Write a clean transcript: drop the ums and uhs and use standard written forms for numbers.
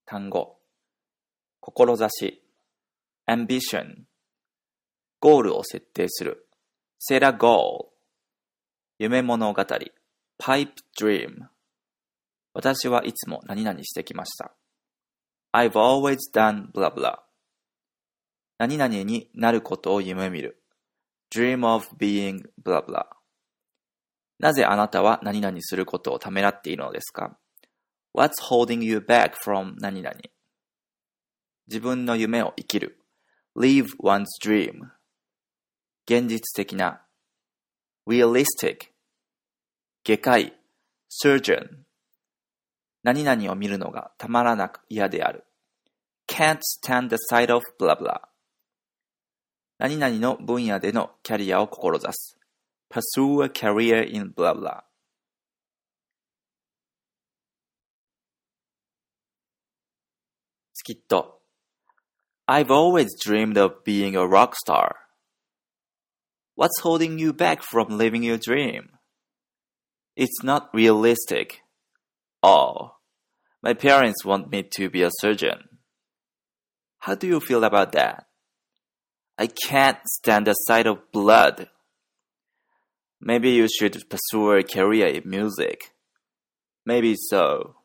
単語、志、ambition、ゴールを設定する、set a goal、夢物語、pipe dream、私はいつも何々してきました。I've always done blah blah。何々になることを夢見る。Dream of being blah blah。なぜあなたは何々することをためらっているのですか？ What's holding you back from 何々？自分の夢を生きる。Live one's dream。現実的な。Realistic。外科医。Surgeon。何々を見るのがたまらなく嫌である。Can't stand the sight of blah blah。何々の分野でのキャリアを志す。Pursue a career in blah blah。スキット。I've always dreamed of being a rock star. What's holding you back from living your dream? It's not realistic. Oh, my parents want me to be a surgeon. How do you feel about that? I can't stand the sight of blood. Maybe you should pursue a career in music. Maybe so.